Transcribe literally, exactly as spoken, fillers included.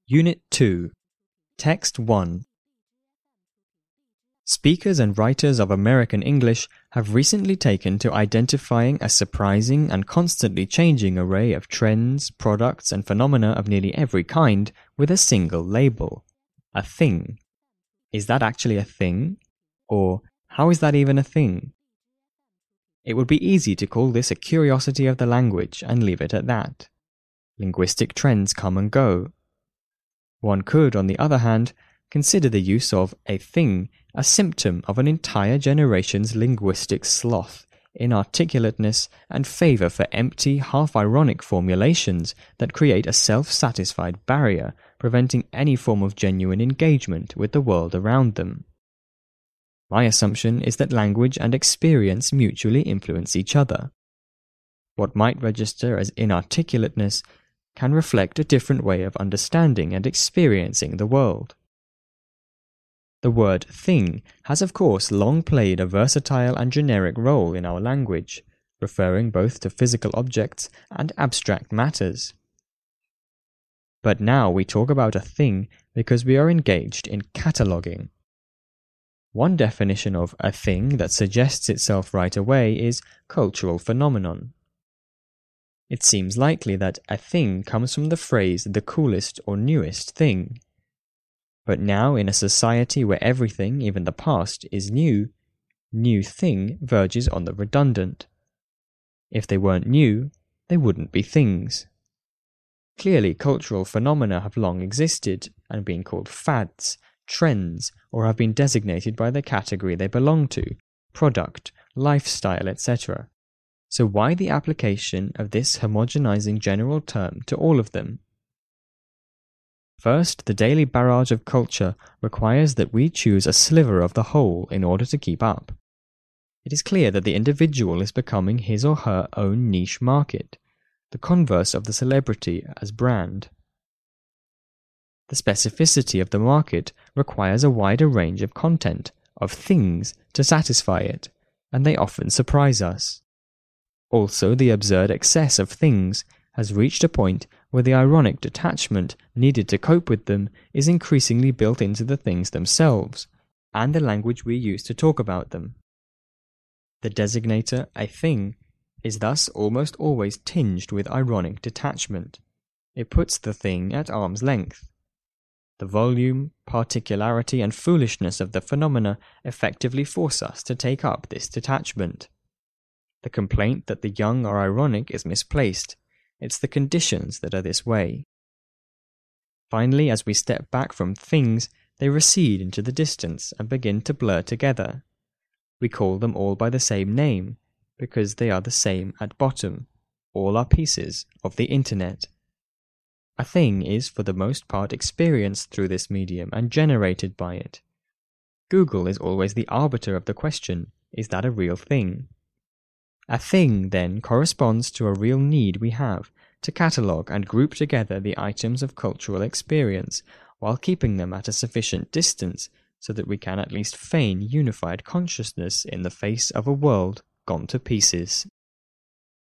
Unit two, Text one. Speakers and writers of American English have recently taken to identifying a surprising and constantly changing array of trends, products, and phenomena of nearly every kind with a single label, a thing. Is that actually a thing? Or, how is that even a thing? It would be easy to call this a curiosity of the language and leave it at that. Linguistic trends come and go. One could, on the other hand, consider the use of a thing a symptom of an entire generation's linguistic sloth, inarticulateness, and favour for empty, half-ironic formulations that create a self-satisfied barrier, preventing any form of genuine engagement with the world around them. My assumption is that language and experience mutually influence each other. What might register as inarticulateness can reflect a different way of understanding and experiencing the world. The word thing has of course long played a versatile and generic role in our language, referring both to physical objects and abstract matters. But now we talk about a thing because we are engaged in cataloguing. One definition of a thing that suggests itself right away is cultural phenomenon. It seems likely that a thing comes from the phrase the coolest or newest thing. But now, in a society where everything, even the past, is new, new thing verges on the redundant. If they weren't new, they wouldn't be things. Clearly, cultural phenomena have long existed and been called fads, trends, or have been designated by the category they belong to, product, lifestyle, et cetera. So why the application of this homogenizing general term to all of them? First, the daily barrage of culture requires that we choose a sliver of the whole in order to keep up. It is clear that the individual is becoming his or her own niche market, the converse of the celebrity as brand. The specificity of the market requires a wider range of content, of things, to satisfy it, and they often surprise us. Also, the absurd excess of things has reached a point where the ironic detachment needed to cope with them is increasingly built into the things themselves, and the language we use to talk about them. The designator, a thing, is thus almost always tinged with ironic detachment. It puts the thing at arm's length. The volume, particularity, and foolishness of the phenomena effectively force us to take up this detachment. The complaint that the young are ironic is misplaced. It's the conditions that are this way. Finally, as we step back from things, they recede into the distance and begin to blur together. We call them all by the same name, because they are the same at bottom. All are pieces of the internet. A thing is for the most part experienced through this medium and generated by it. Google is always the arbiter of the question, is that a real thing? A thing, then, corresponds to a real need we have to catalogue and group together the items of cultural experience, while keeping them at a sufficient distance so that we can at least feign unified consciousness in the face of a world gone to pieces.